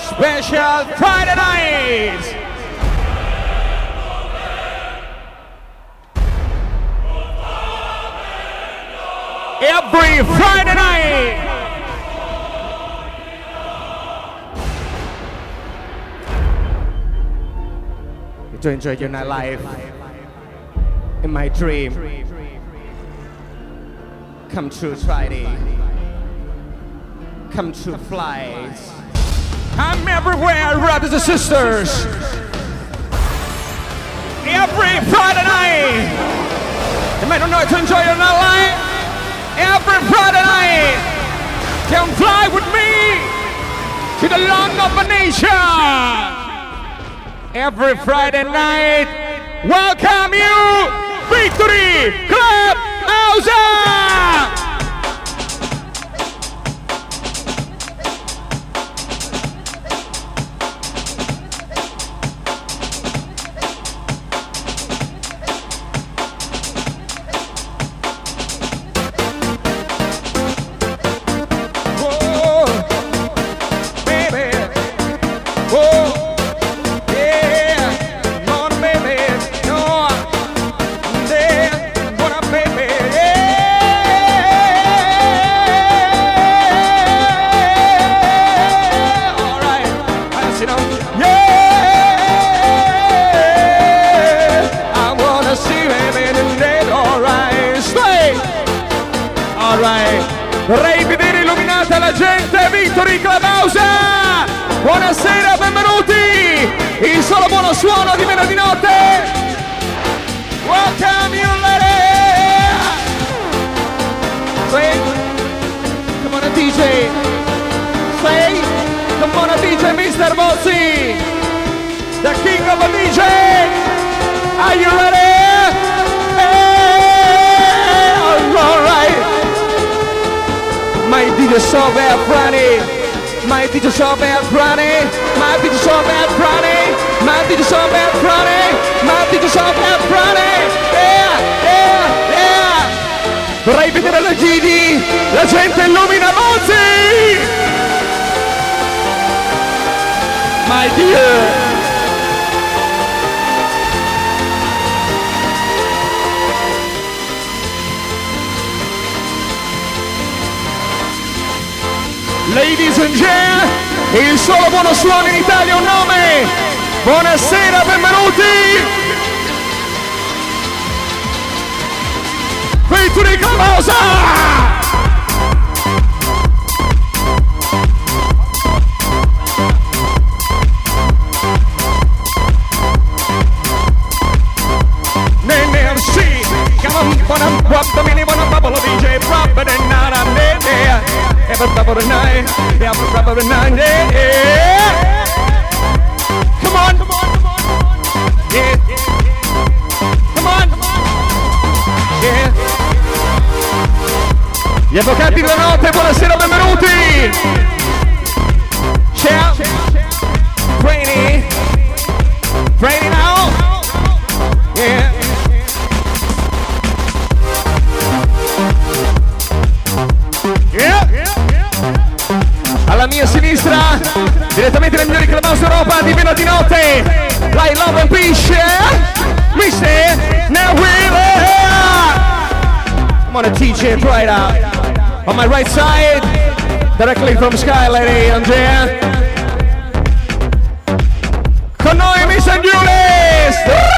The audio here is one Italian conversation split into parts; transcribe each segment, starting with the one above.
Special Friday night. Every Friday night. To enjoy your nightlife in my dream. Come true Friday. Come true flights. I'm everywhere, brothers and sisters. Every Friday night. You might not know to enjoy your nightlife. Every Friday night. Come fly with me to the land of a nation. Every Friday night, welcome you, Victory Club House! Vorrei vedere illuminata la gente, Victory Club House! Buonasera, benvenuti! Il solo buono suono di venerdì notte! Welcome you ladies! Say, come on a DJ! Say, come on a DJ, Mr. Bozzi! The king of a DJ! Are you ready? Hey, all right! My DJ so bad Friday, my DJ so bad Friday, my DJ so bad Friday, my DJ so bad Friday, my DJ so bad Friday, yeah, yeah, yeah. Vorrei vedere la Gidi, la gente illumina Mozzi. My dear. Ladies and gentlemen, il solo buono suono in Italia ha un nome. Buonasera, benvenuti. Victory Club House. DJ proper than not I'm there. Every proper night, every proper night, yeah. Come on, yeah. Come on, yeah. Gli avvocati della notte, buonasera, benvenuti. Ciao, Brainy now, yeah. Alla mia sinistra, direttamente dai migliori clubhouse d'Europa di venerdì notte, Light Love and Peace, Mr. Nawila. I'm on a DJ right out. On my right side, directly from Sky, lady and gentlemen. Con noi Mr. Julius.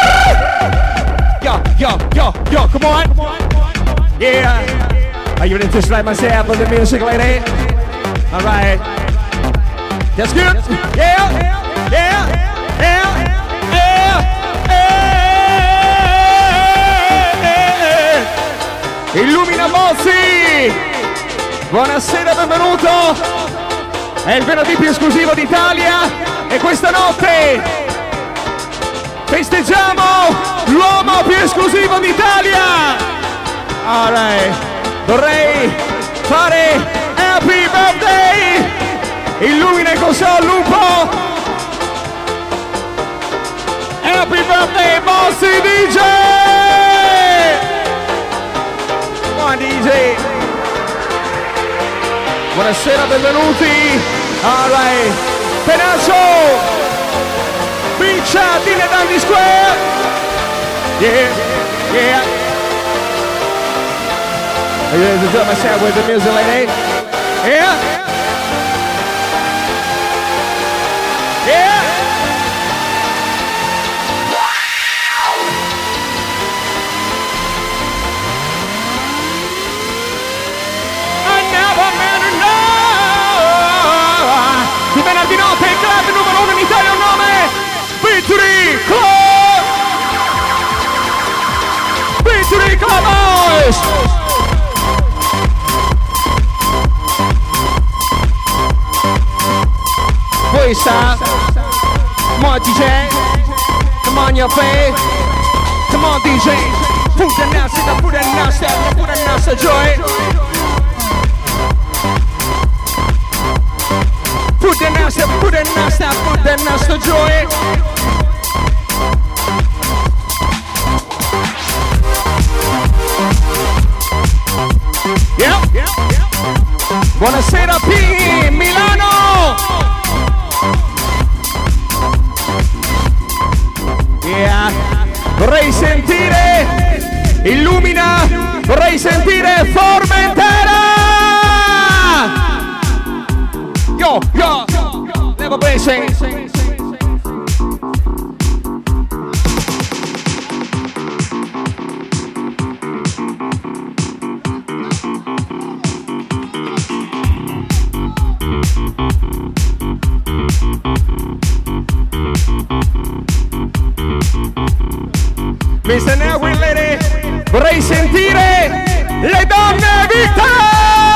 Yo, come on. Yeah. Are you ready to slide myself with the music, lady? All right. That's good. Yeah. Illumina Mozzi. Buonasera, benvenuto. È il venerdì più esclusivo d'Italia e questa notte festeggiamo l'uomo più esclusivo d'Italia. All right. Vorrei fare Happy Birthday! Illumina il console lupo! Happy Birthday, Mozzi DJ! Come on DJ! Buonasera, benvenuti! Alright! Penaso, Biccia, Dine Dandy Square. Yeah, yeah. Are you ready to drum myself with the music, lady? Yeah. Yeah. Di venerdì notte il club numero 1 in Italia, un nome Victory Club! Victory Club Boys! Questa, come on DJ, come on your face, come on DJ, put the nasty joy. Put the nasty joy. Yeah. Buonasera P, Milano. Yeah. Vorrei sentire Illumina, vorrei sentire Formentera. Yo, never basic. Mr. Now we're ready. Vorrei sentire le donne vite.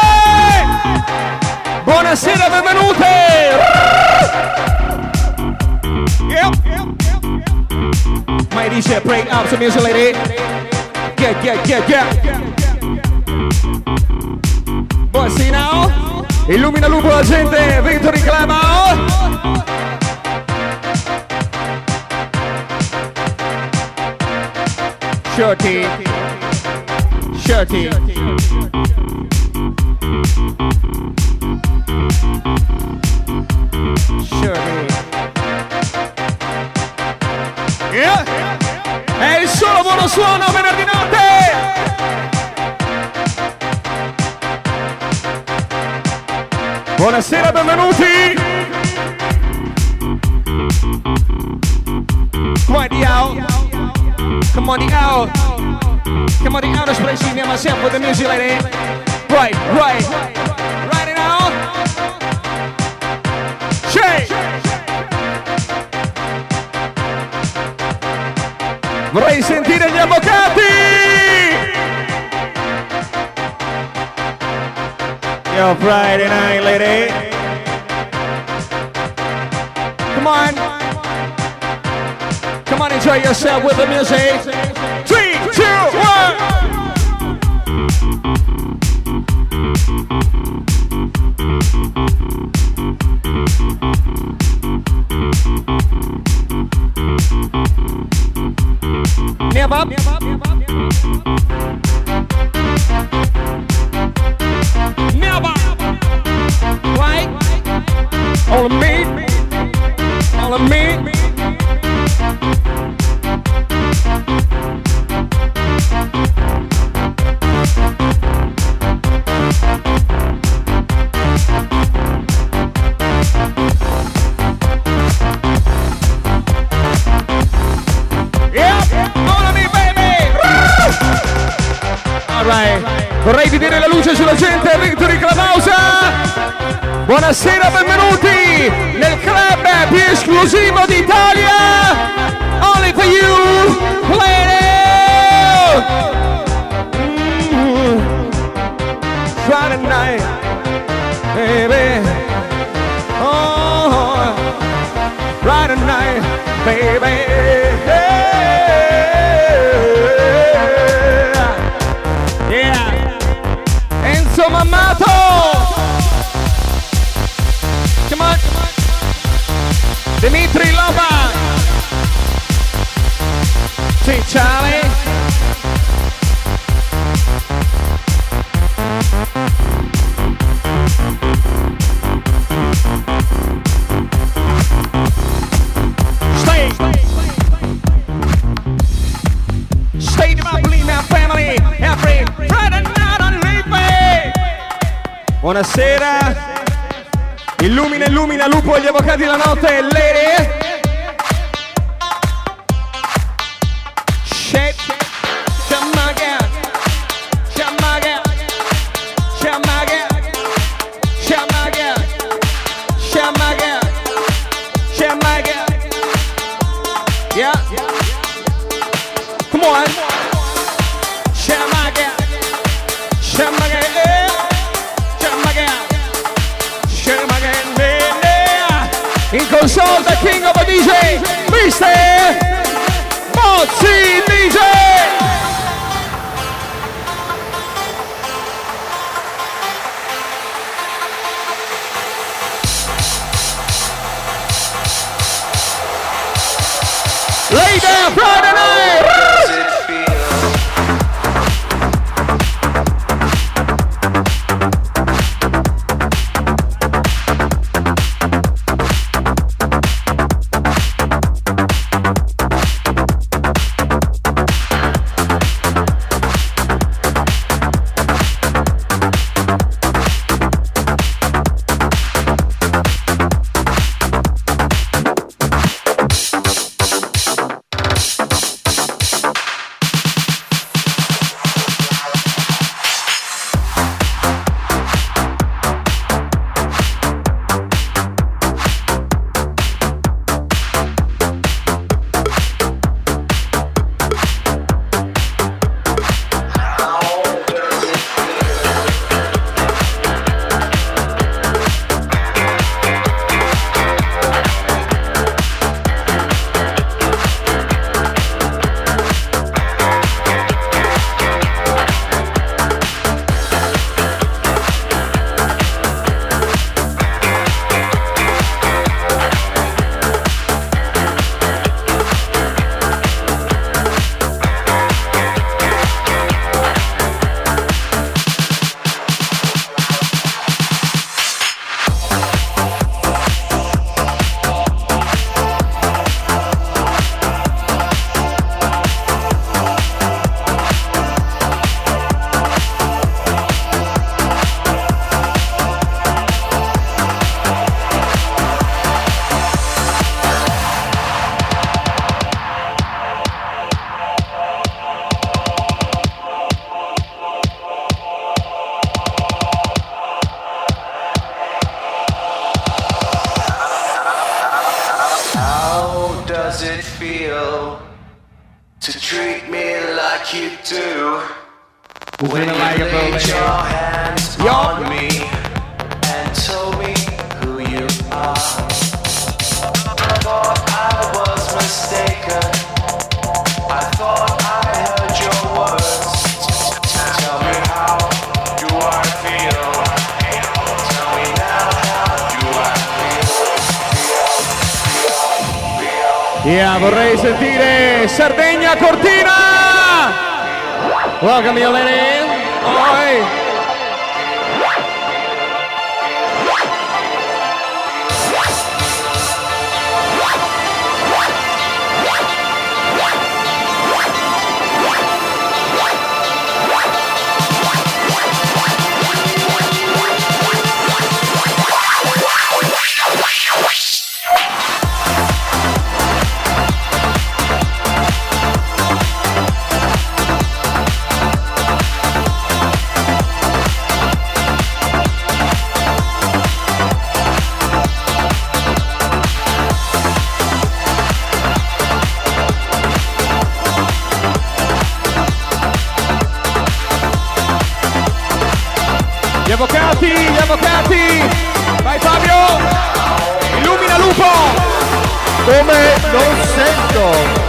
Buonasera, benvenute! Yep. My DJ, break up some music, lady. Yeah. Buonasera now. Illumina lupo la gente, Victory Club. Shorty. Yeah. È il solo buono suono venerdì notte. Buonasera, benvenuti. Come on the out. Come on the out, especially near myself with the music lady. Right it out. Shake. Vorrei sentire gli avvocati. Yo, Friday night, lady. Come on, enjoy yourself with the music. 3, 2, 1. Never. Right? All of me. Vorrei vedere la luce sulla gente, Victory Club House. Buonasera, benvenuti nel club più esclusivo d'Italia. Only for you, lady. Friday night, baby. Oh, Friday night, baby. Mammato! Come on! Dimitri Loba! Sì, Charlie! Illumina, illumina, lupo e gli avvocati della notte, lady. Shape, shamaga, shamaga, shamaga, shamaga, shamaga, shamaga. Yeah. Come on. Shamaga, shamaga, shamaga, shamaga, in console the king of a DJ, Mr. Mozzi DJ. Lay down Friday night. does it feel to treat me like you do? When you laid your hands on me and told me who you are. I thought I was mistaken. I thought I heard your words. Tell me how do I feel? Tell me now how do I feel? Yeah, vorrei sentire Sardegna Cortina. Welcome you lady. Oi. Gli avvocati, vai Fabio, illumina Lupo, come non sento.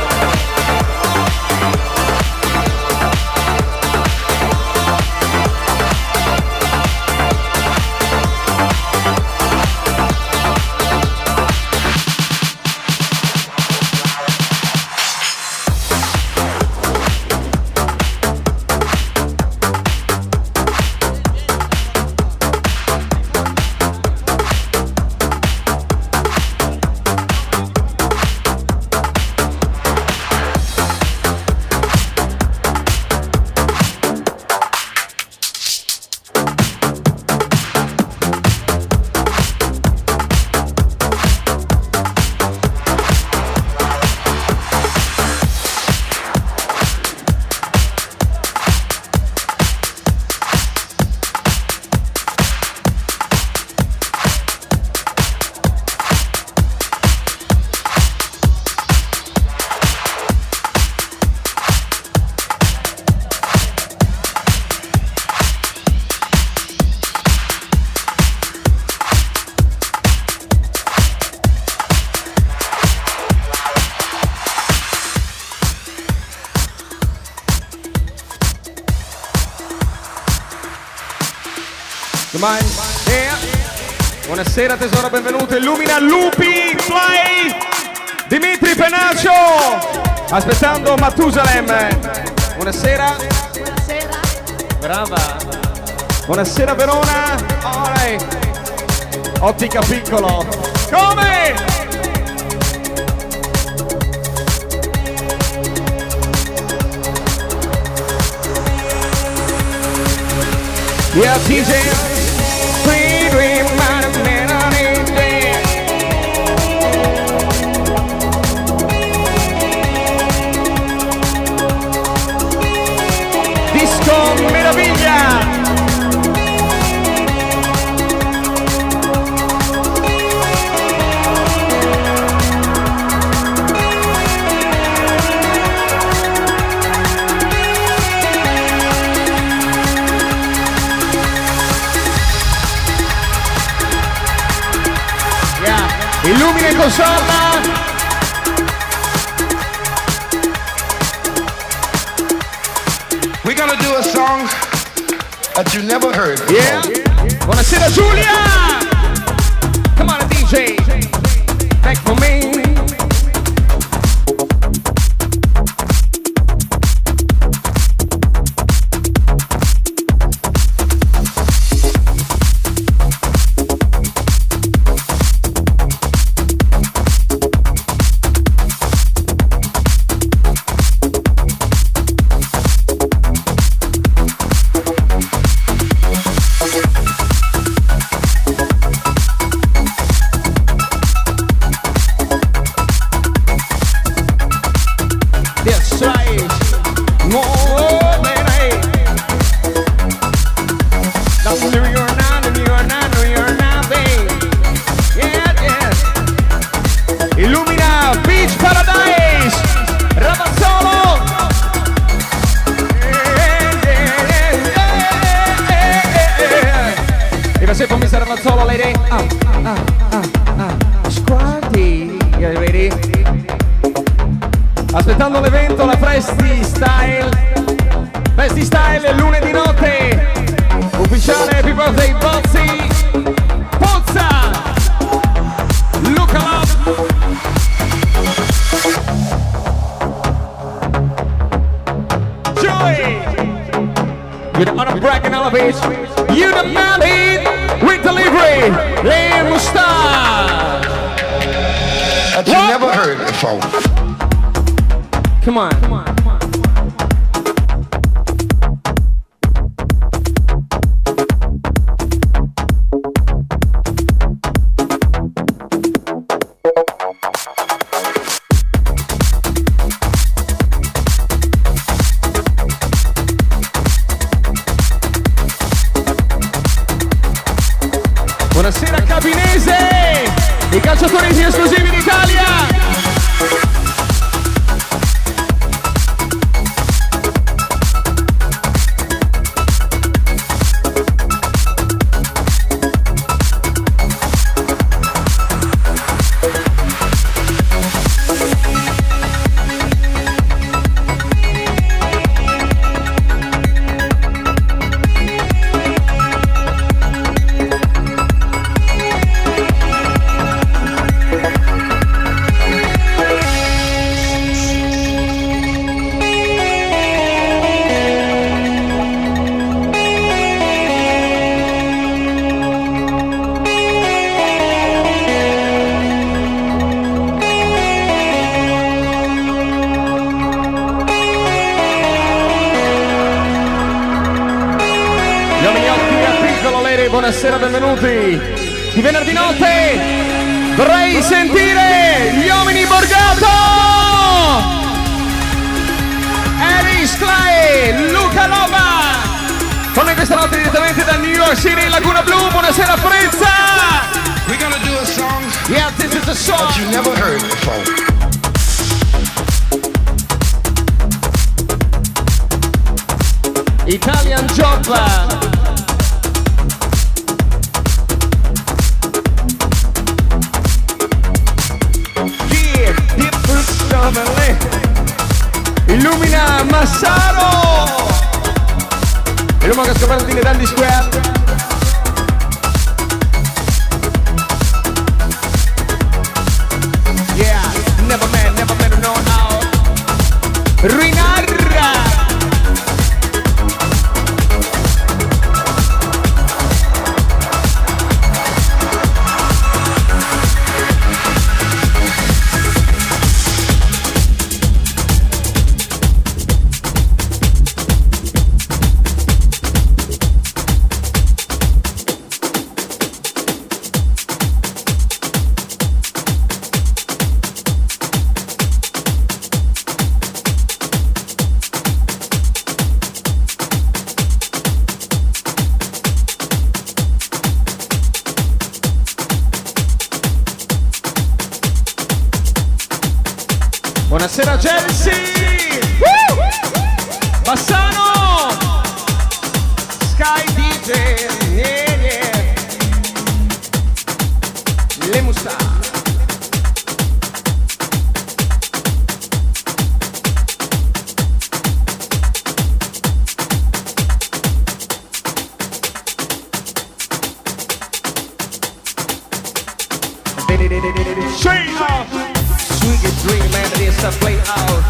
Yeah. Buonasera tesoro, benvenuto. Illumina Lupi, Fly, Dimitri Penaccio. Aspettando Matusalem. Buonasera. Buonasera. Brava. Buonasera Verona. Alright. Ottica Piccolo. Come? Yeah, TJ. Sweet dream, my melody. Disco Meraviglia. Illumina in console. We're gonna do a song that you never heard before. Yeah. Buonasera Giulia. Come on DJ. Back for me. Illumina Beach Paradise, Ravazzolo. E va sempre Mr. Ravazzolo, lady. Squarty, you ready? Aspettando l'evento, la Festi Style lunedì notte. Ufficiale Happy Birthday Bozzi. Pozza. Look up. Joy. With honor bragging elevation. You the man with delivery. Lay Mustache. That you never heard before. Come on. Buonasera Cabinese, i calciatori esclusivi d'Italia. Buonasera, benvenuti. Di venerdì notte vorrei sentire gli uomini Borgato, Eris Clay, Luca Lova. Con noi questa notte direttamente da New York City, Laguna Blu. Buonasera Frezza. We're gonna do a song. Yeah, this is a song that you never heard before. Italian Job. Illumina Massaro, il uomo che ha scoperto di Dandy Square. Buonasera Chelsea. Bassano. Sky DJ. Yeah, yeah. Le Musta. Straight up. Sweet dream and it is a play out.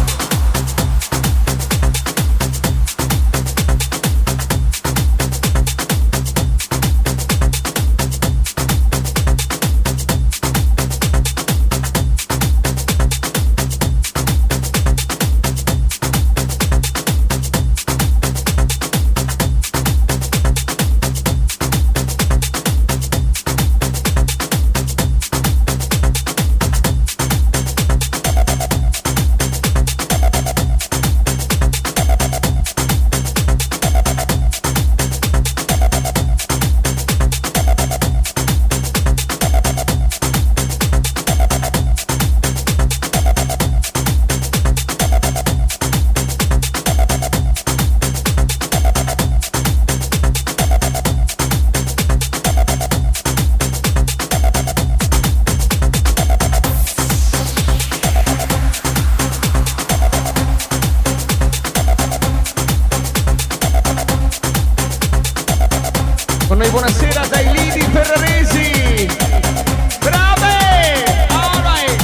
Con noi buonasera dai Lidi Ferraresi. Brave! All right.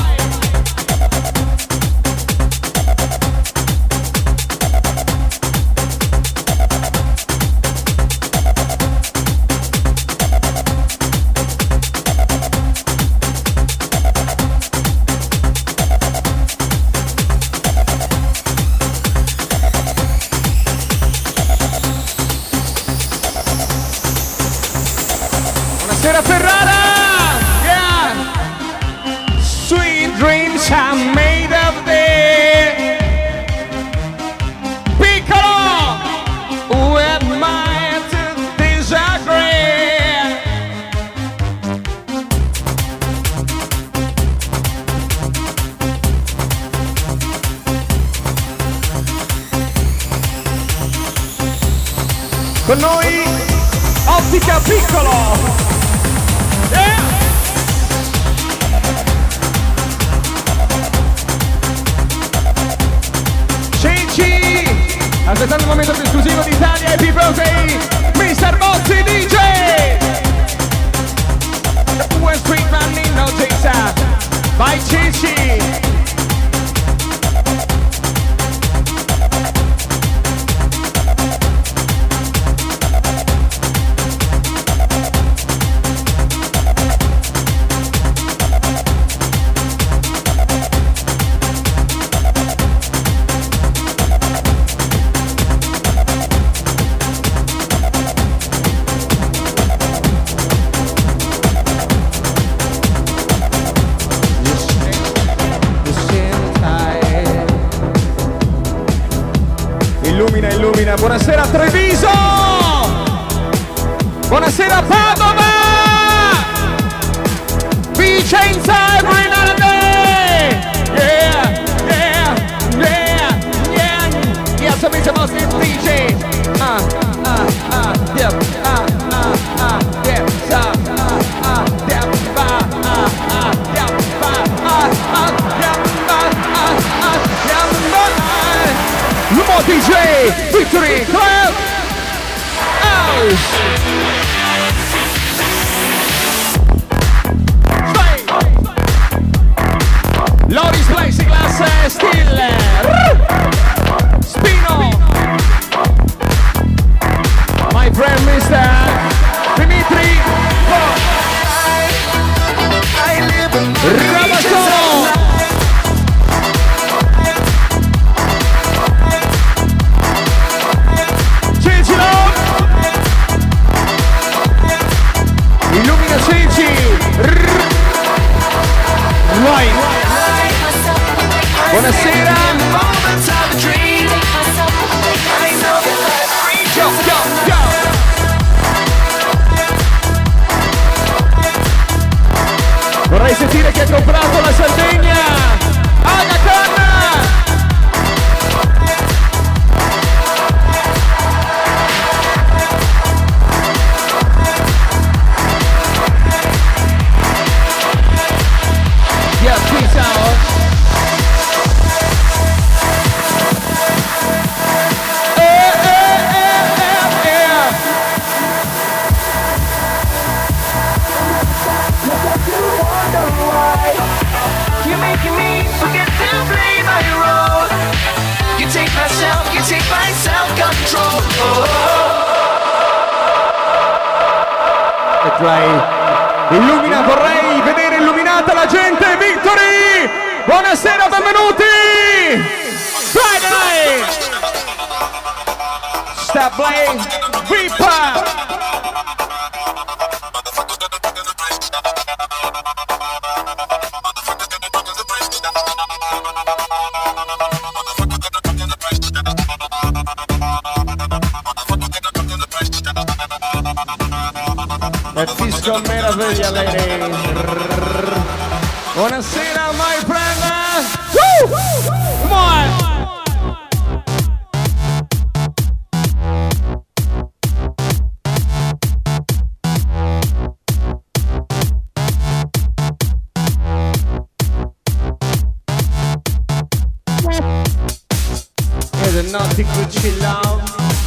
Buonasera Ferrara! Yeah! Sweet dreams are made of this. Piccolo! Who am I to disagree? Con noi Ottica Piccolo! Aspettando il momento più esclusivo d'Italia, Happy Birthday, Mr. Bozzi DJ! West Street Man Nino Jesa, vai Cici! Illumina, buonasera Treviso! Buonasera Padova! Vicenza every night and day! Yeah, yeah, yeah, yeah! Yeah, so Mr. Boss is DJ! Yeah, yeah, Lumo DJ, Victory Club, House. Loris Plexiglass Stiller, Spino, my friend Mr. Dimitri, Rabasono. Illumina Ceci. Right. Buonasera. Go, go, go. Vorrei sentire chi ha comprato la Sardegna. Agacan. Play. Illumina, vorrei vedere illuminata la gente. Victory! Buonasera, benvenuti! Friday! Stop Play, Vipa! È disco meraviglia, lady. Buonasera, my friend. Woo! Come on. Is it naughty Gucci love?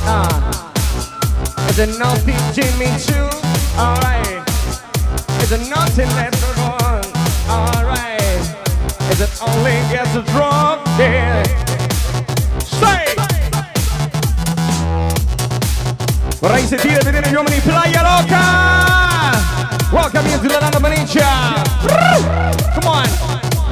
Is it naughty Jimmy Choo? Alright. Is it naughty everyone? Alright. Is it only gets a drunk? Yeah. Say! Vorrei sentire e vedere gli uomini Playa Loca! Welcome into the land of Benicia! Come on!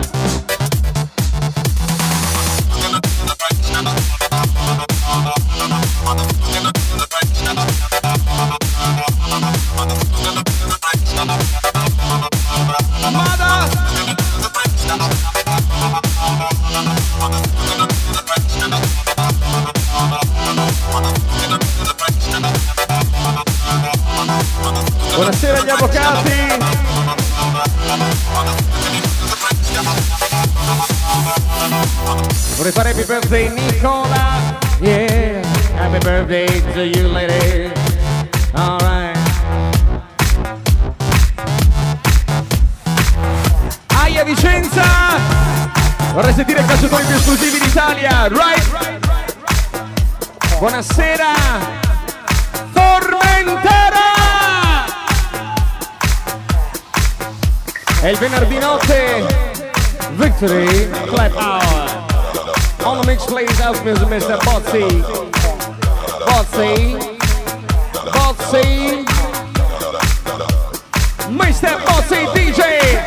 Buonasera agli avvocati. Vorrei fare happy birthday Nicola. Yeah, happy birthday to you lady. Alright. Aia Vicenza. Vorrei sentire i calciatori più esclusivi d'Italia. Right? Buonasera. Formentera. E il venerdì notte Victory Clap Hour. On the mix plays out Mr. Bozzi. Mr. Bozzi DJ.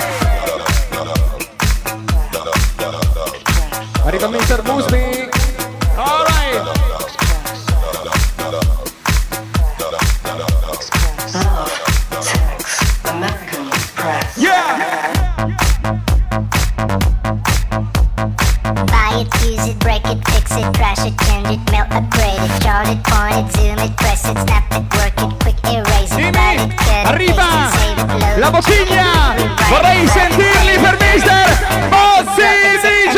Arriva Mr. Busby. All right. La bottiglia! Vorrei sentirli per Mister Bozzi DJ!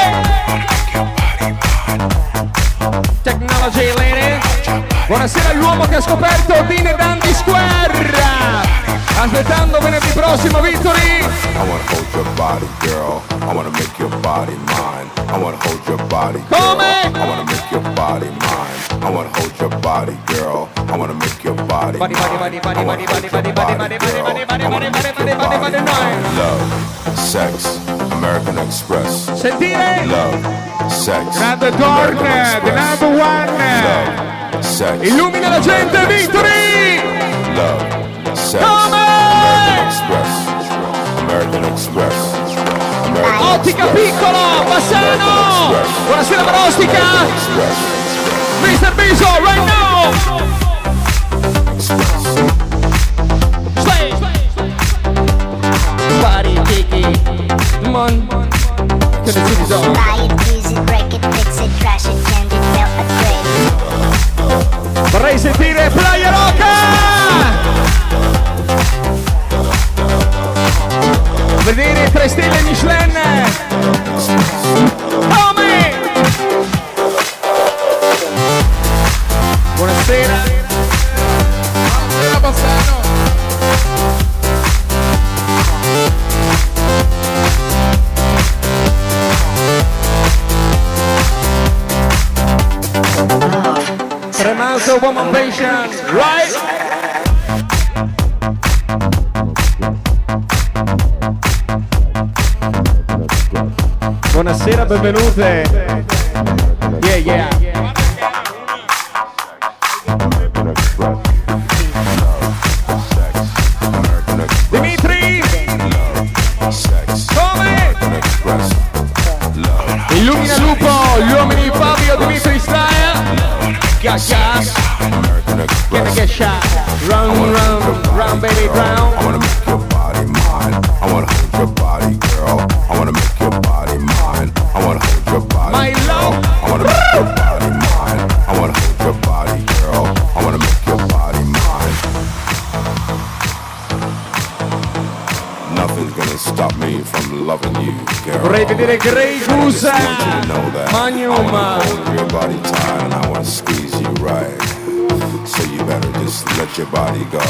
Technology Lady! Buonasera all'uomo che ha scoperto Dean e Dandy Square! Aspettando venerdì prossimo, Victory! I wanna hold your body, girl. I wanna make your body mine. I wanna hold your body, girl. Come? I wanna make your body mine. I wanna hold your body, girl. I wanna make your body mine. Love, sex, American Express. Sentire! Love, sex, Grande Dorn, the number one! Love, sex, Illumina la gente, Victory! Love, sex, Come? American Express. American Express. American Ottica Express. Piccolo, Bassano! Buonasera Marostica! Mr. Biso, right now! Slay! Body Kiki, come on! To the city zone. Buy it, use it, break it, fix it, trash it, change it, melt, upgrade it. Vorrei sentire Playa Loca! Vedere 3 stelle Michelin! Come? Buonasera! Buonasera Bassano! Tremauso Woman Patient, right? Buonasera, benvenute. Yeah, yeah. sex, Come? American Express, love, Illumina Lupo, gli uomini Fabio Dimitri Style. Gas, gas. American Gonna Express. get shot. Run, run, run, baby, I drown. wanna make your body mine. I wanna hold your body, girl. I wanna make your body mine. I wanna hold your body, My girl. love. I wanna make your body mine. I wanna hold your body, girl. I wanna make your body mine. Nothing's gonna stop me from loving you, girl. Vorrei vedere Grey I just Goose. want you to know that Magnum. I wanna hold your body tight and I wanna squeeze you right. So you better just let your body go.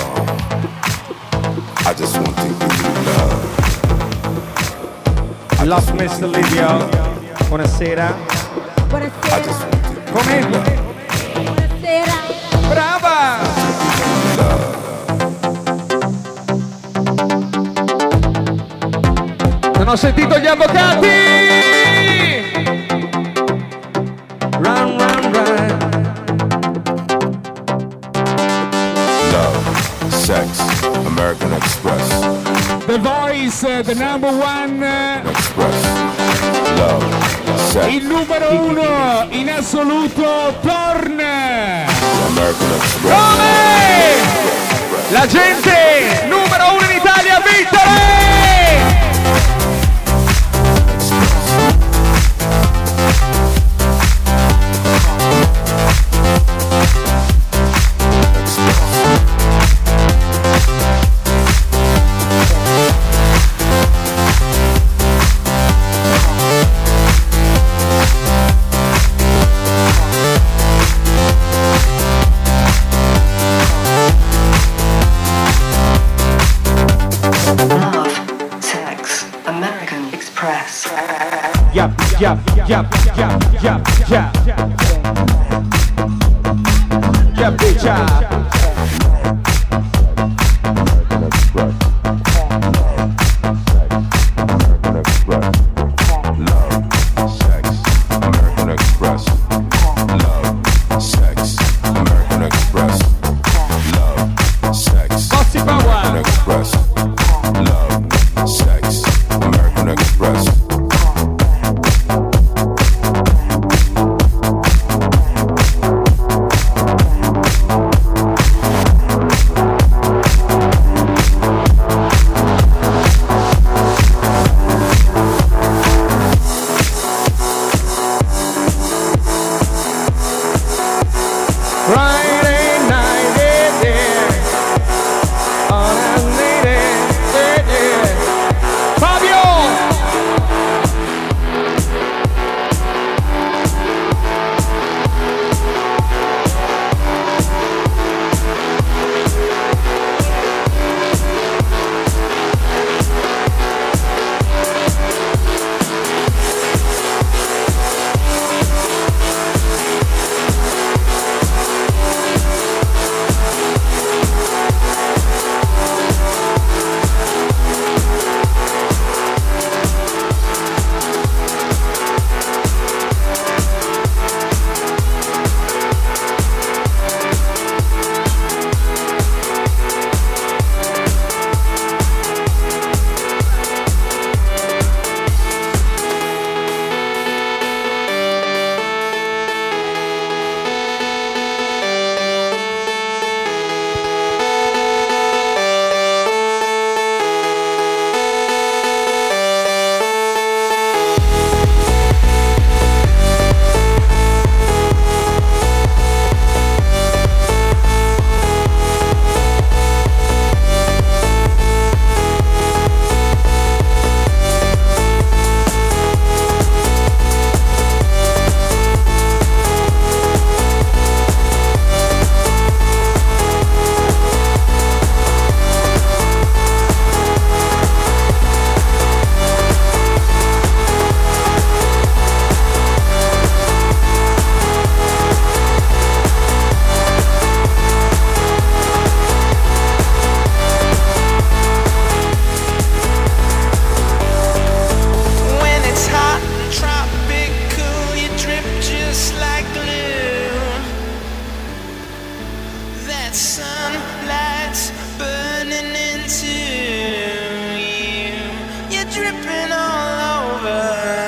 I just want to give you love. Love Mr. Livio. Buonasera. I just want to give Come? you love. Buonasera. Brava! Non ho sentito gli avvocati! Run, run, run. Love, sex, American Express, The Voice, the number one, Express, love, sex, il numero uno in assoluto, Torn. American Express. Come? La gente numero uno in Italia, Vittore! Yap, yap, yap, yap, yap, yap. Yap, bitch, American Express, love, sex, American Express, love, sex, Bossy Power. American Express, love, sex, American Express. dripping all over.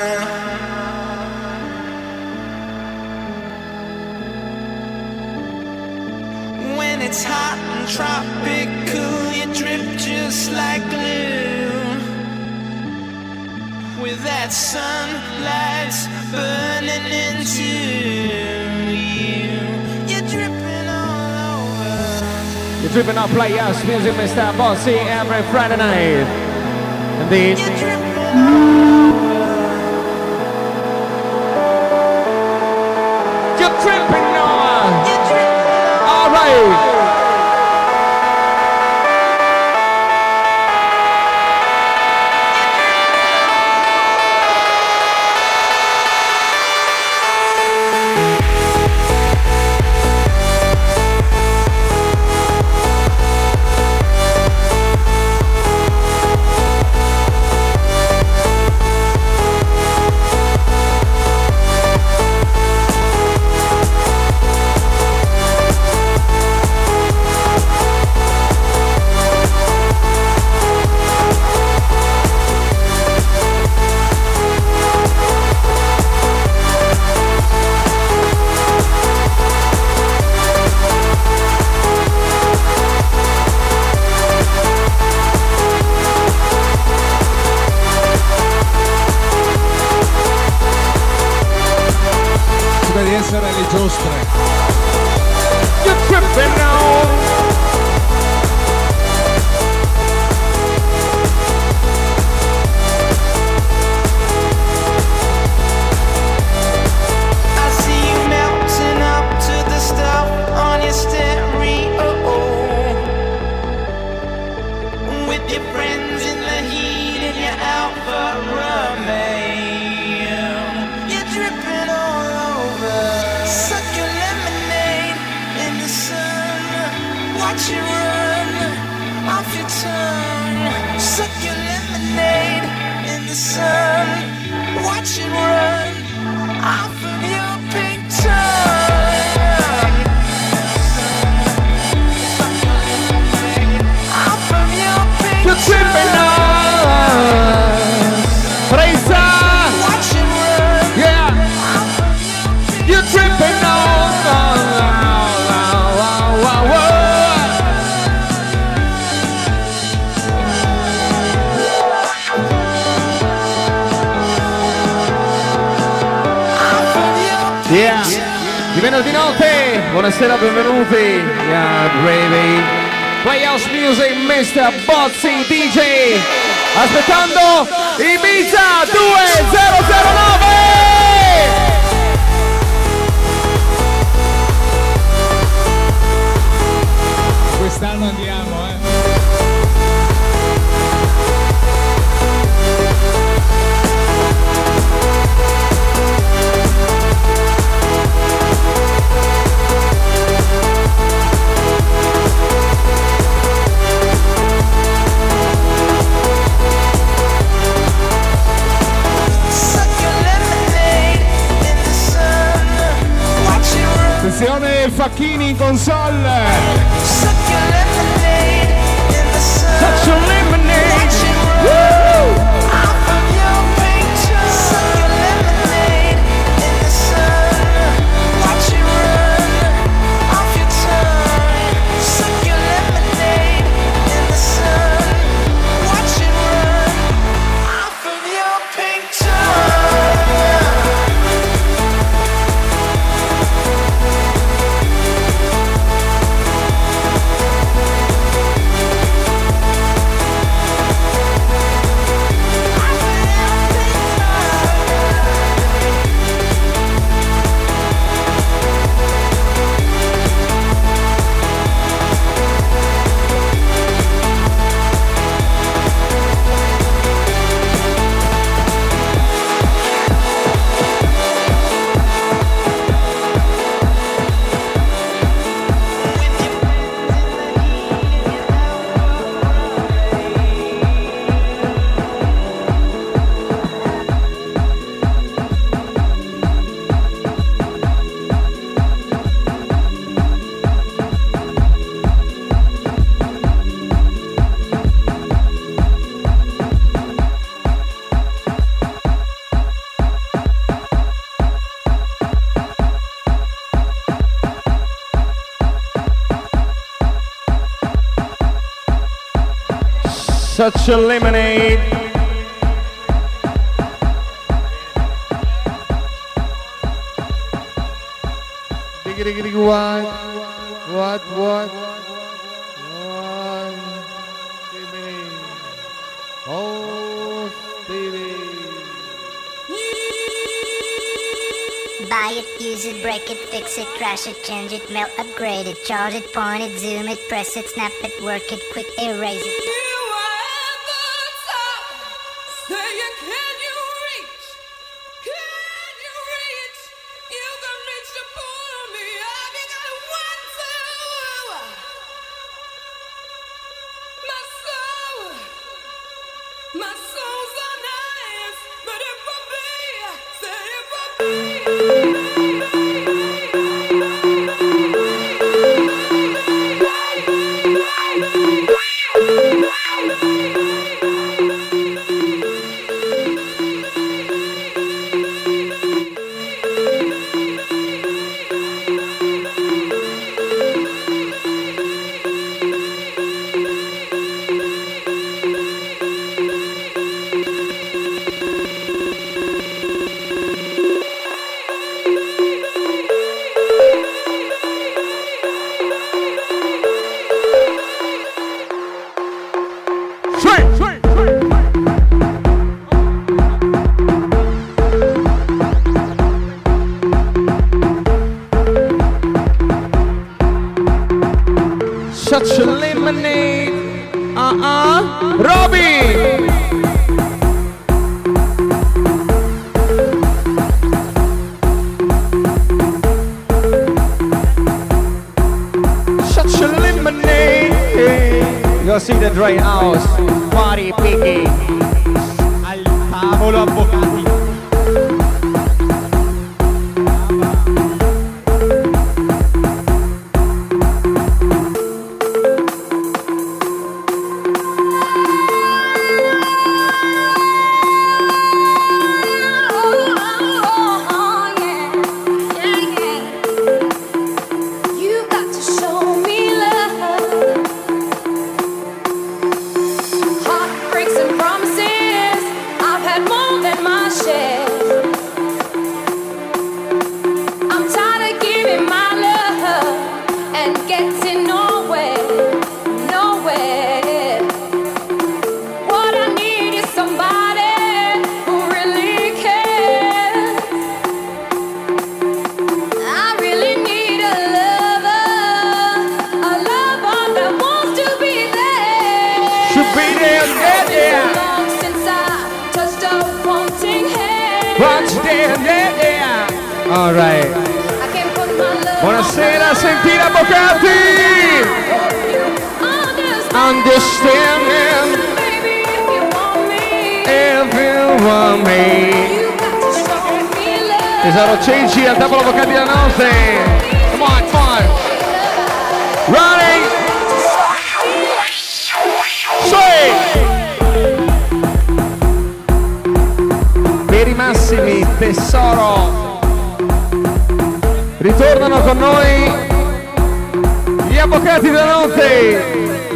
When it's hot and tropical, you drip just like glue. With that sunlight's burning into you. You're dripping all over. You're dripping up Playhouse Music, Mr. Bossy, every Friday night. Indeed. You're dripping all over. You're dripping on. You're dripping All right. Essere le giostre. You're tripping on. I see you melting up to the stuff on your stereo. With your friends in the heat and your Alfa Romeo. You're dripping all over. Suck your lemonade in the sun. Watch it run off your tongue. Suck your lemonade in the sun. Watch it run off of your pink tongue. Suck your lemonade off of your pink You're tripping on. Presa. Watch it run Yeah. off of your pink You're tripping on. Yeah. Di venerdì notte, buonasera, benvenuti. Yeah, baby. Playhouse Music, Mr. Bozzi DJ. Aspettando Ibiza 2009. Quest'anno andiamo, Suck your lemonade in the sun. Watch it run. Attenzione Facchini in console. Suck your lemonade in the sun. Such a lemonade. Watch it run off of your pink tongue. Suck your lemonade in the sun. Watch it run off your tongue. Suck your lemonade in the sun. Watch it run off of your pink tongue. Such a lemonade. What? Oh, Stevie. Buy it, use it, break it, fix it, crash it, change it, melt, upgrade it, charge it, point it, zoom it, press it, snap it, work it, quick erase it. Such a lemonade. Robbie. Such a lemonade. You see the Dre House party picking Al tavolo avvocati. All right. Buonasera, sentire avvocati. Understanding. If you want me. Tesoro Cenci al tavolo avvocati della notte. Come on, come on. Running. Per i massimi, tesoro. Ritornano con noi gli avvocati della notte.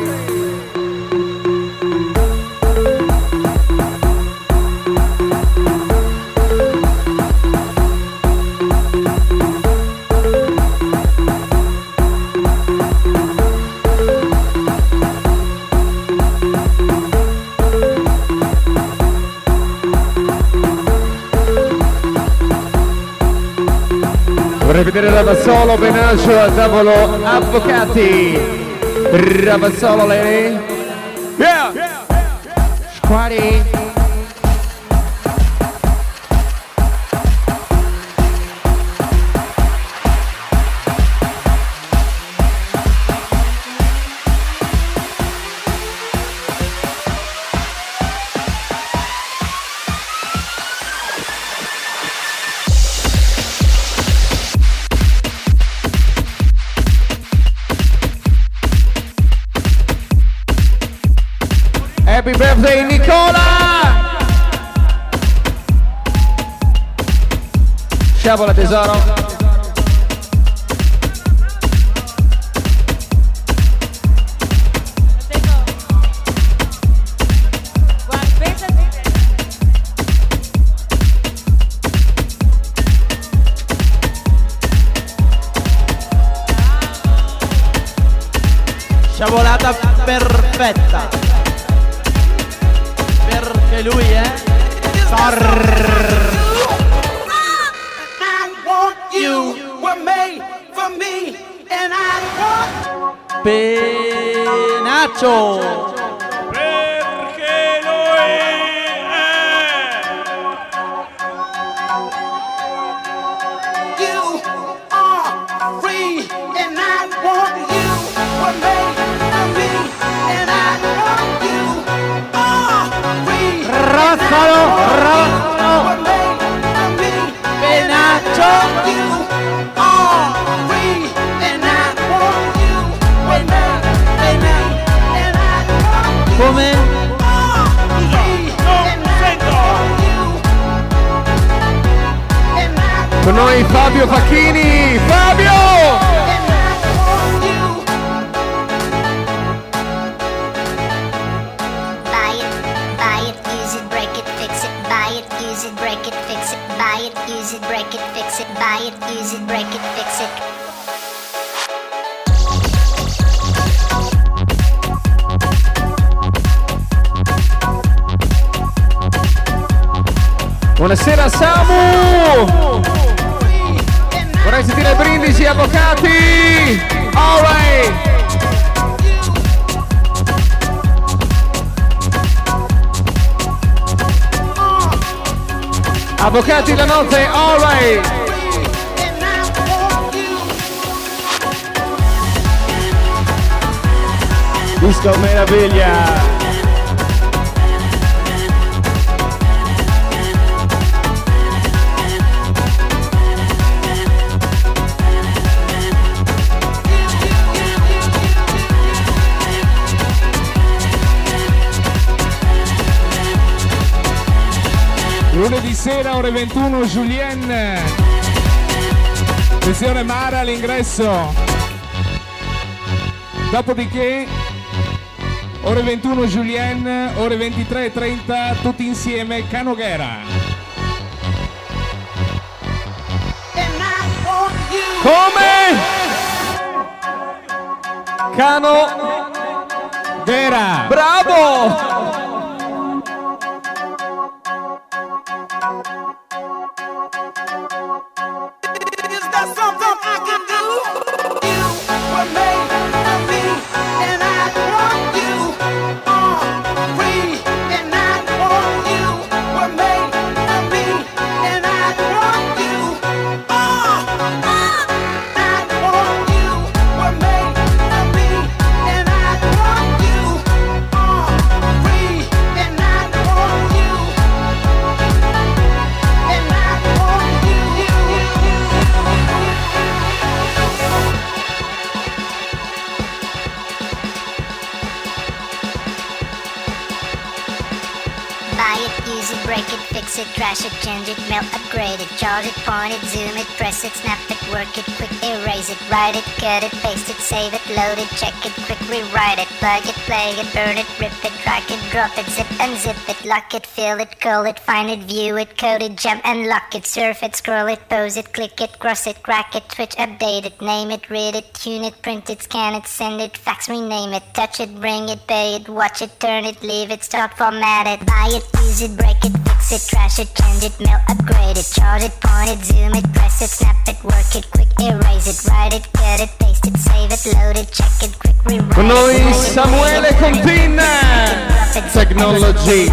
Vorrei vedere Ravazzolo, Benaccio al tavolo avvocati. Ravazzolo, lady. Yeah! Squaddy. Happy birthday Nicola! Sciabola tesoro! Sciabolata perfetta. Perché lui è Penaccio. Perché lui You are free and I want you. Were made for me and I want you. Are free. Razzalo. Were made for me. Penaccio. You are free and I want you. Were made and I want you. Come? Con noi Fabio Facchini. Fabio! Buy it, use it, break it, fix it. Buy it, use it, break it, fix it. Buy it, use it, break it, fix it. Buy it, use it, break it, fix it. Buonasera Samu! Vorrei sentire brindisi, avvocati! Alright! Avvocati la notte, alright! Disco meraviglia! lunedì sera ore 21 Julien. Attenzione Mara all'ingresso. Dopodiché ore 21 Julien, ore 23:30 tutti insieme Canoghera. Come? Canoghera. Bravo! Trash it, change it, melt, upgrade it, charge it, point it, zoom it, press it, snap it, work it, quick erase it, write it, cut it, paste it, save it, load it, check it, quick rewrite it, plug it, play it, burn it, rip it, drag it, drop it, zip and zip it, lock it, fill it, call it, find it, view it, code it, jump and lock it, surf it, scroll it, pose it, click it, cross it, crack it, switch, update it, name it, read it, tune it, print it, scan it, send it, fax, rename it, touch it, bring it, pay it, watch it, turn it, leave it, start, format it, buy it, use it, break it, fix it, trash it, change it, melt, upgrade it, charge it, point it, zoom it, press it, snap it, work it, quick erase it, write it, cut it, paste it, save it, load it, check it, quick rewrite it. Con noi Samuele Contina. Technology.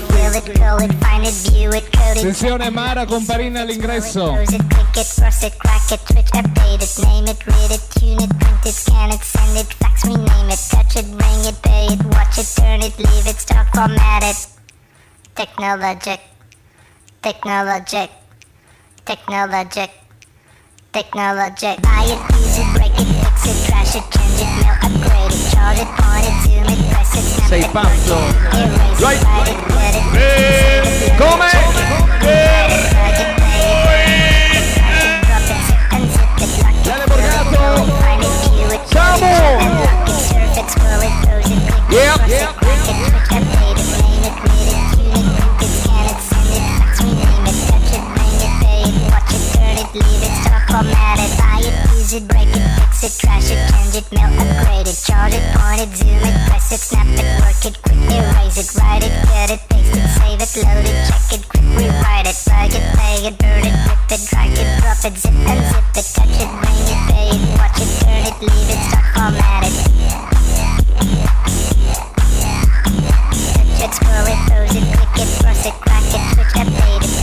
Attenzione Mara Comparina all'ingresso. Click it, cross it, crack it, switch, update it, name it, read it, tune it, print it, scan it, send it, fax, rename it, touch it, bring it, pay it, watch it, turn it, leave it, start, format it. Technologic, technologic, technologic, technologic. Buy it, use it, break it, fix it, trash it, change it, mail, upgrade it, charge it, point it, zoom it, press it, snap sei it, pazzo. erase it, Right. write it, cut it, Come? Viene Borgato. Samu. Yep. Leave it, start, format it, buy it, use it, break it, fix it, trash it, change it, melt, upgrade it, charge it, point it, zoom it, press it, snap it, work it, quick erase it, write it, cut it, paste it, save it, load it, check it, quick rewrite it, plug it, play it, burn it, rip it, drag it, drop it, zip and zip it, touch it, bring it, pay it, watch it, turn it, leave it, start format it. Touch it, scroll it, pose it, click it, cross it, crack it, switch, update it.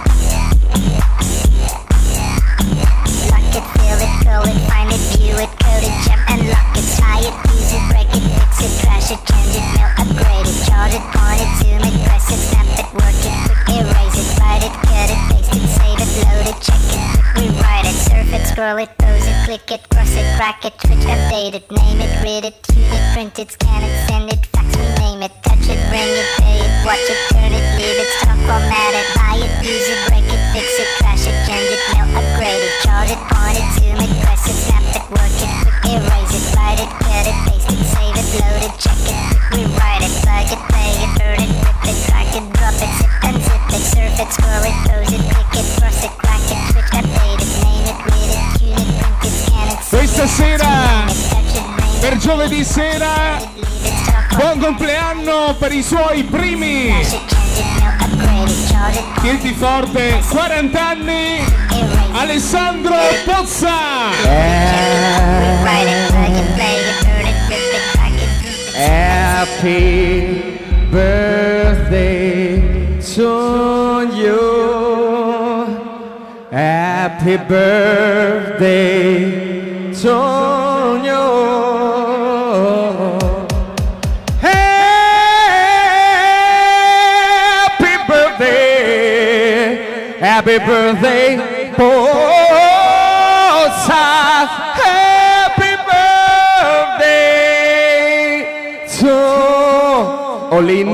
Lock it, fill it, scroll it, find it, view it, code it, jump and lock it, try it, use it, break it, fix it, trash it, change it, mail, upgrade it, charge it, point it, zoom it, press it, snap it, work it, quick erase it, write it, cut it, paste it, save it, load it, check it, quick rewrite it, surf it, scroll it, pose it, click it, cross it, crack it, switch, update it, name it, read it, tune it, print it, scan it, send it, fax, rename it, touch it, bring it, pay it, watch it, turn it, leave it, stop, format it, buy it, use it, break it, fix it, trash it, change it, mail, upgrade it, charge it, point it, zoom it, press it, snap it, work it, quick erase it, write it, cut it, paste it, save it, load it, check it, quick rewrite it, plug it, play it, burn it, rip it, drag it, drop it, zip and zip it, surf it, scroll it, pose it, click it, cross it, crack it, switch, update it, name it, read it, tune it, print it, scan it, Questa sera, touch it, bring it, per giovedì sera, leave it, stop, buon compleanno per i suoi primi trash it, change it, mail, upgrade it, charge it, Tienti forte, 40 anni, erase it, Alessandro Pozza. rewrite it, plug it, play it, burn it, rip it, crack it, Happy birthday to you. Happy birthday to you. Happy birthday. Happy birthday, Pozza. Happy birthday to Olin.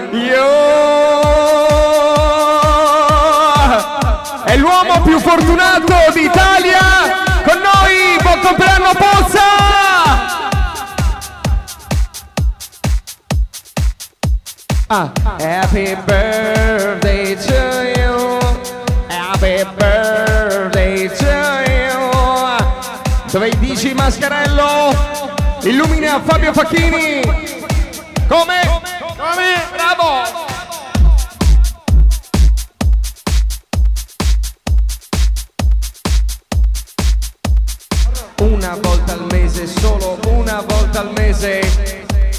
È l'uomo più fortunato d'Italia. Con noi, buon compleanno Pozza. Happy birthday to you. Happy birthday to you. Dove dici Mascarello? Illumina Fabio Facchini. Come? Bravo! Una volta al mese, solo una volta al mese.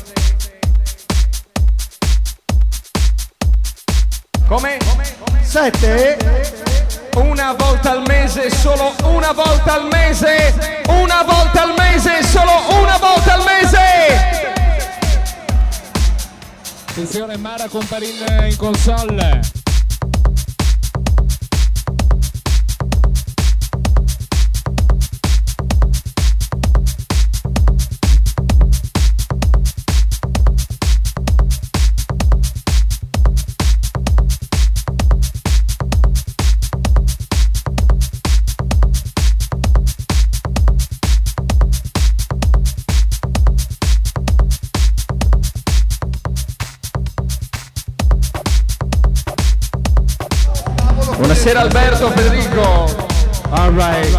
Come? 7? Una volta al mese, solo una volta al mese. Una volta al mese, solo una volta al mese. Attenzione, Mara Comparin in console. Buonasera Alberto, Federico. All right.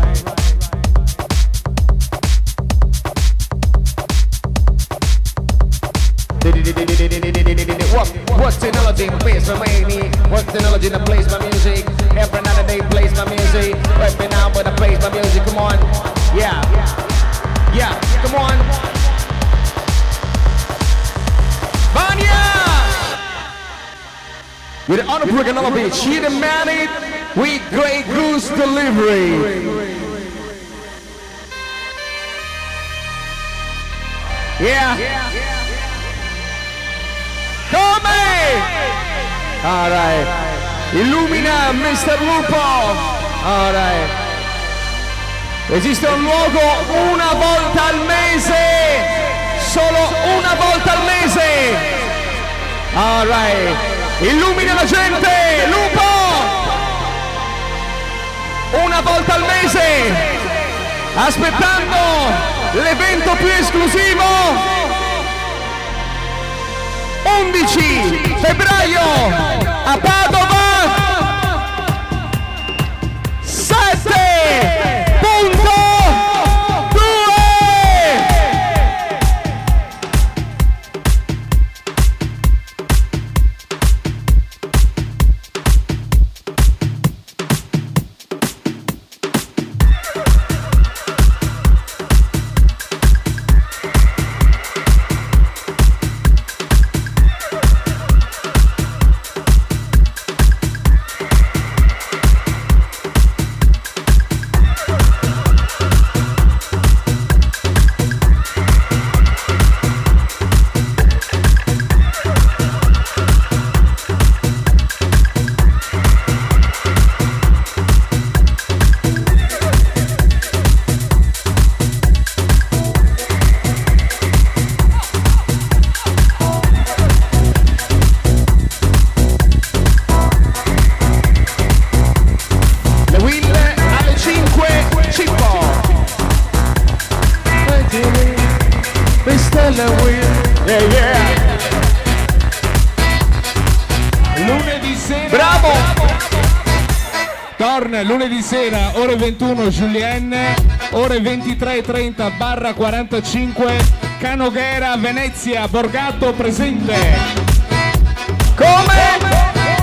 What technology plays my money? What technology that plays my music? Every night and day plays my music. Every now when I plays my music, come on. Yeah, yeah, come on. Vanya! With the honor Briganovic, he demanded with Great Goose delivery. Yeah. Come! Alright. Illumina Mr. Lupo. Alright. Esiste un luogo una volta al mese. Solo una volta al mese. Alright. Illumina la gente, Lupo! Una volta al mese, aspettando l'evento più esclusivo. 11 febbraio a Padova. 7.2 sera. Bravo! Torna lunedì sera, ore 21 Julienne, ore 23:30/45 Canoghera, Venezia, Borgato presente. Come?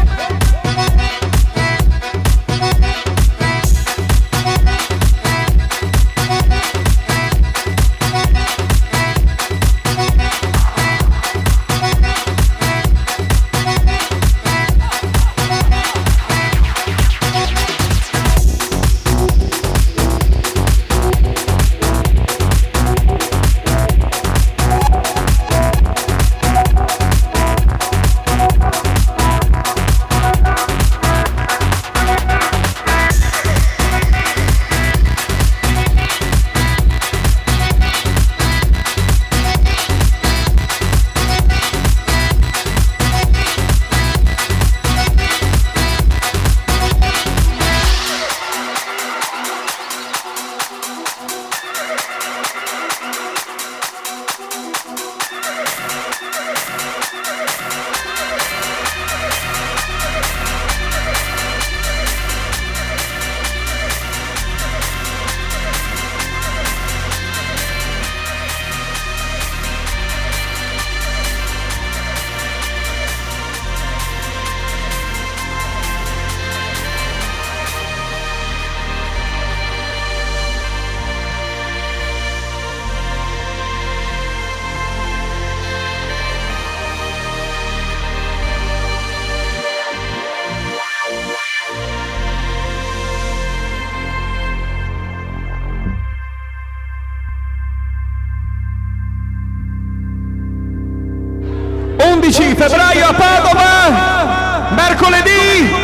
Febbraio a Padova, mercoledì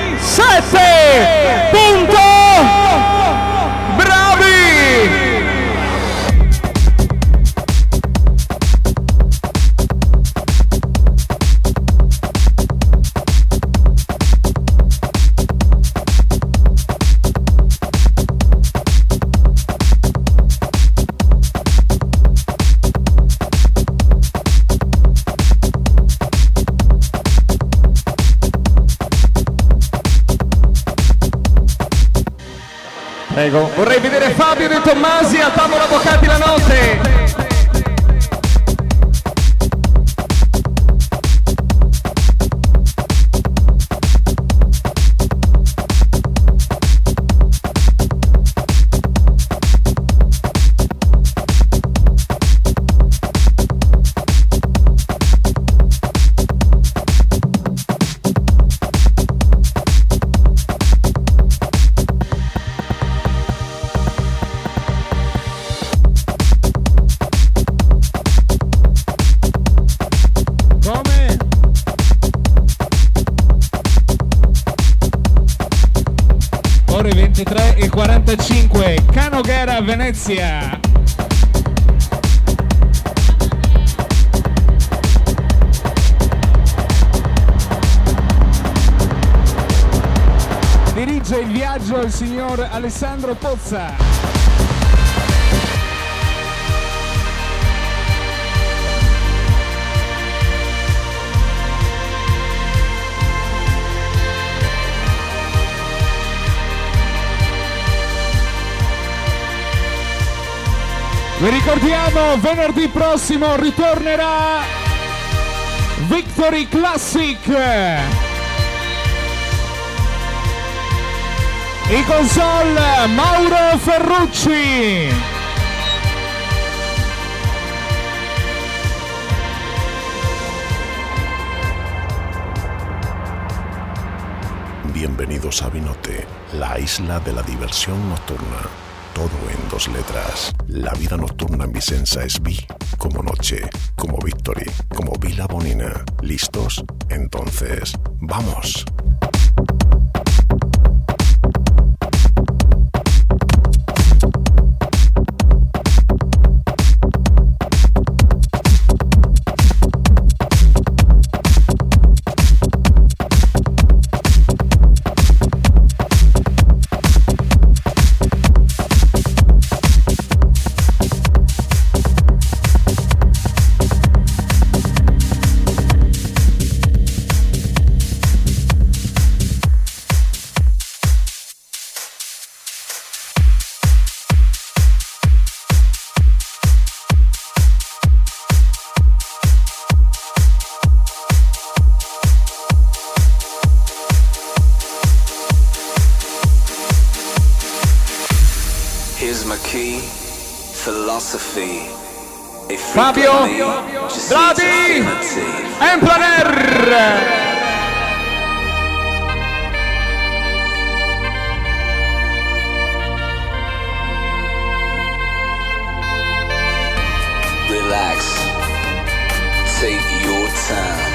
7 punto bravi. Prego. Vorrei vedere Fabio De Tommasi a tavola avvocati la notte. Ore 23:45 Canoghera, Venezia. Dirige il viaggio il signor Alessandro Pozza. Vi ricordiamo, venerdì prossimo ritornerà Victory Classic. I console Mauro Ferrucci. Bienvenidos a Vinote, la isla de la diversión nocturna. Todo en 2 letras. La vida nocturna en Vicenza es Vi, como noche, como Victory, como Vila Bonina. ¿Listos? Entonces, ¡vamos! Here's my key, philosophy. Fabio Bradi Emplaner. Relax, take your time.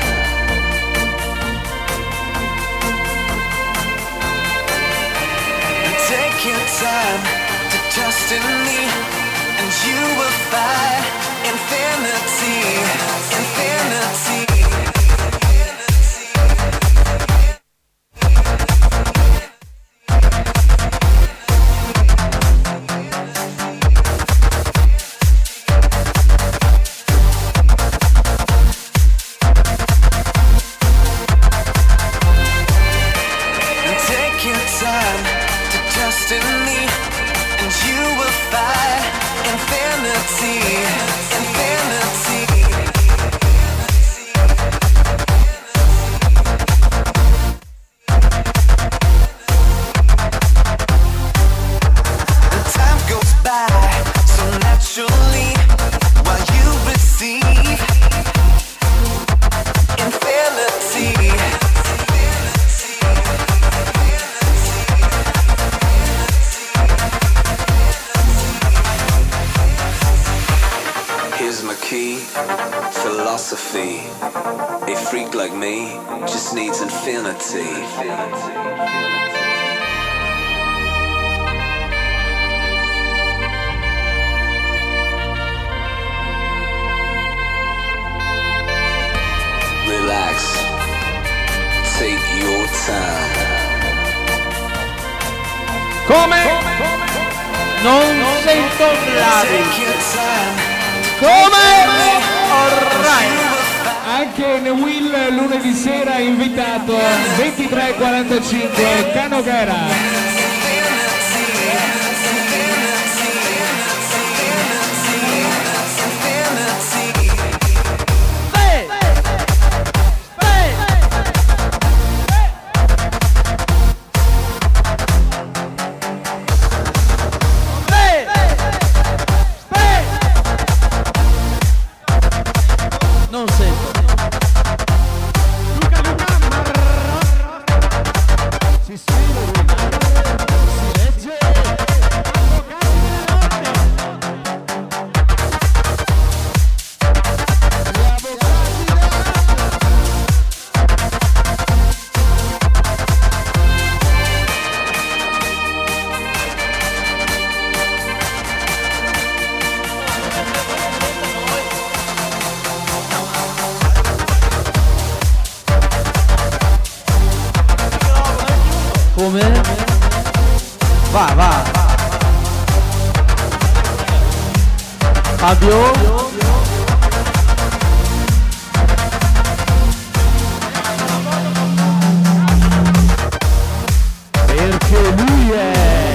Take your time to trust in me, and you will find infinity, infinity. Philosophy. A freak like me just needs infinity. Relax. Take your time. Come? Non sento bravi. Come? Alright. Anche Will lunedì sera invitato 23:45 Canogera. Non sento. Come? Va. Fabio? Perché lui è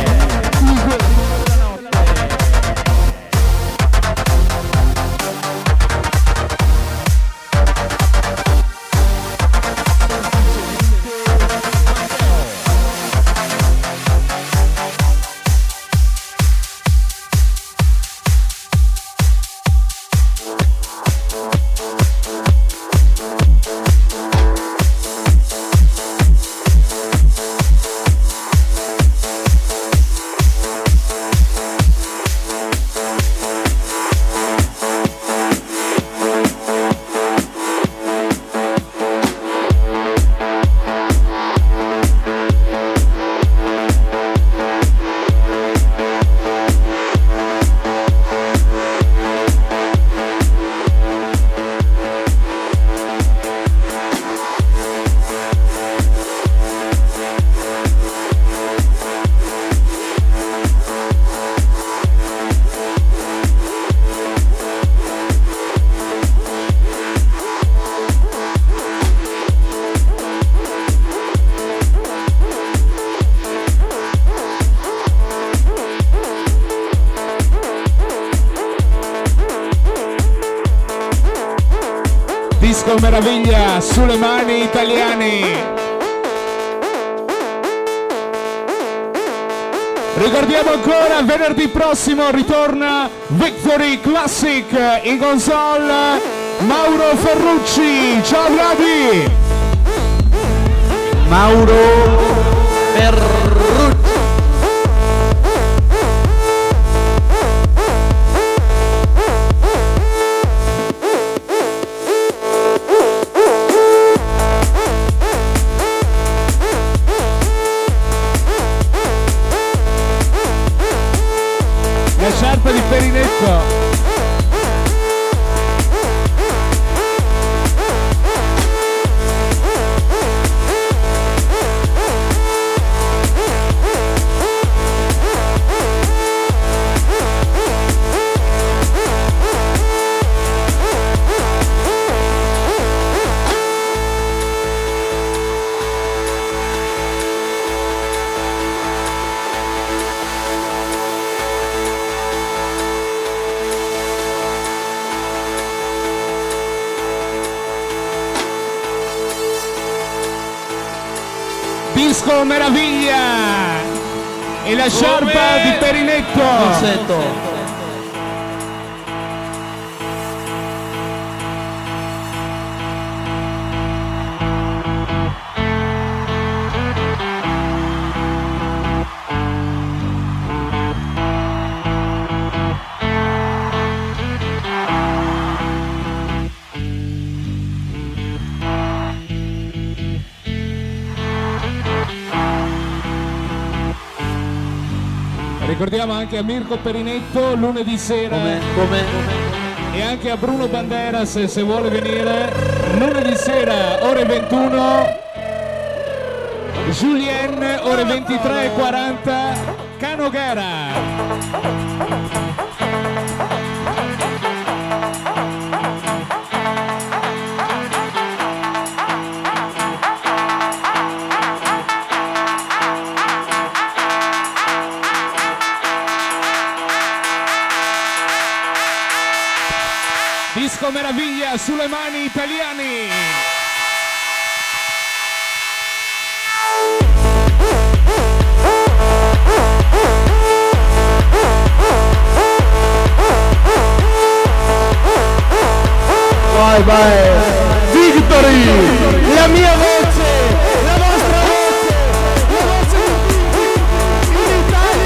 Disco meraviglia sulle mani italiani. Ricordiamo ancora, venerdì prossimo ritorna Victory Classic in console Mauro Ferrucci. Ciao Vladi! Mauro Ferrucci. La sciarpa di Perinetto. Disco Meraviglia e la sciarpa di Perinetto. Rossetto. Ricordiamo anche a Mirko Perinetto lunedì sera. Come? E anche a Bruno Banderas se vuole venire lunedì sera ore 21, Julien ore 23:40, Canogara. Disco Meraviglia sulle mani italiani. Vai. Victory! La mia voce! La vostra voce! La voce in Italia!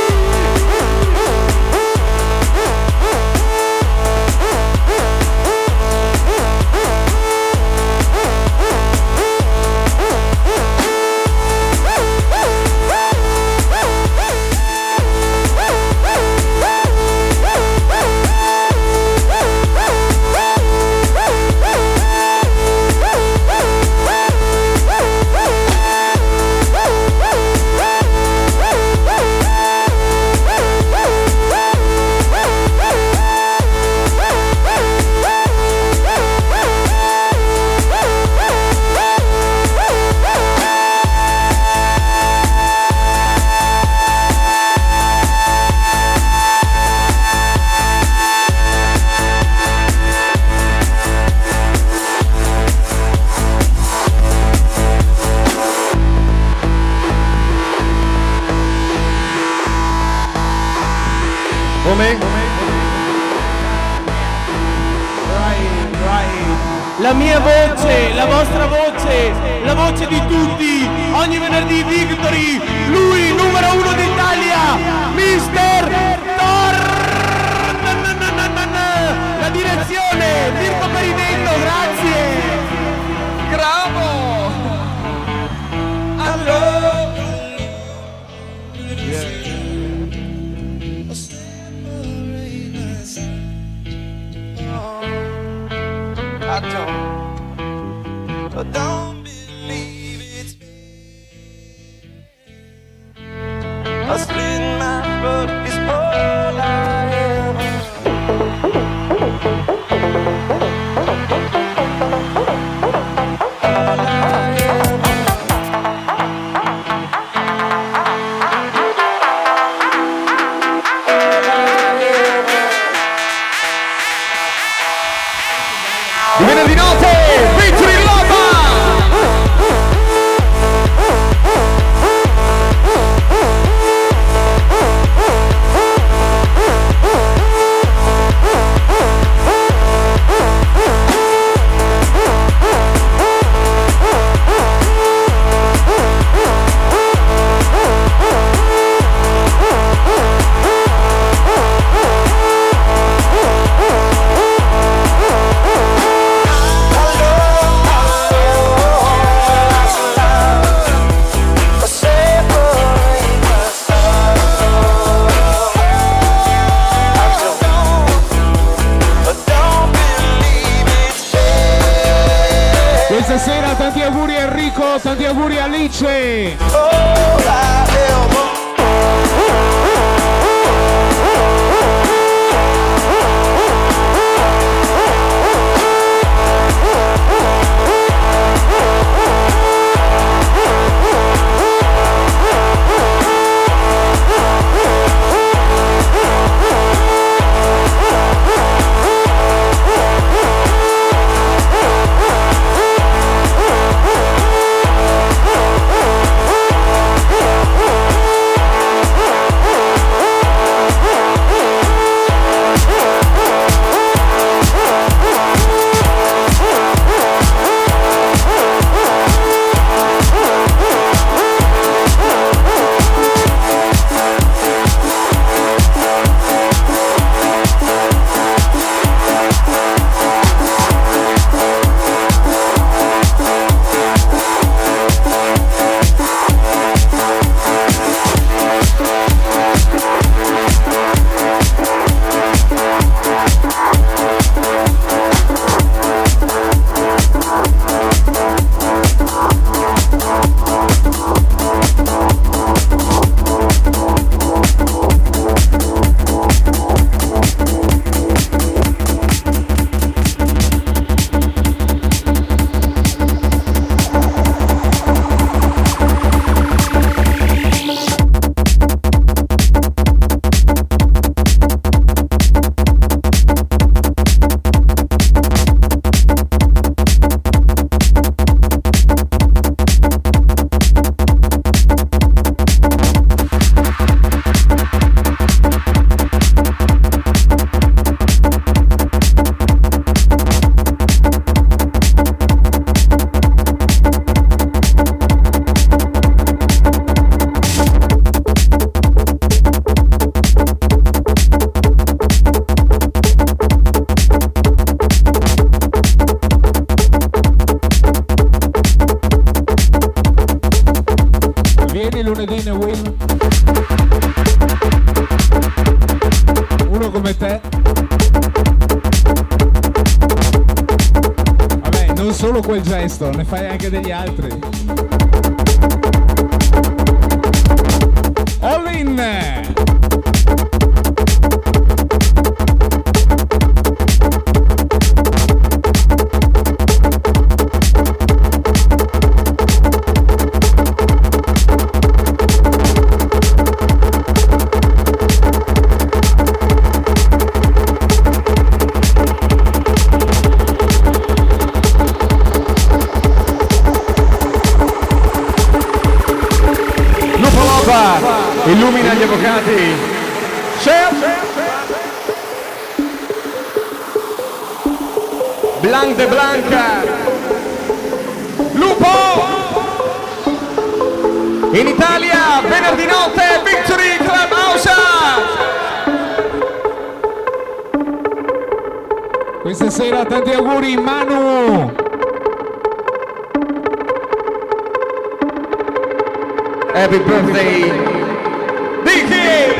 La mia voce, la vostra voce, la voce di tutti, ogni venerdì Victory, lui numero 1 d'Italia, Mister Thor. La direzione, Mirko Perinetto, grazie. Bravo! Allora! Don't believe it's me. A split my foot is all I am. All I am. Di venerdì notte, Victory Lava! voce. lunedì ne win. Uno come te. Vabbè, non solo quel gesto, ne fai anche degli altri. All in! Illumina gli avvocati. Blanc de Blanca. Lupo. In Italia venerdì notte Victory Club House. Questa sera tanti auguri Manu. Happy birthday, Vicky!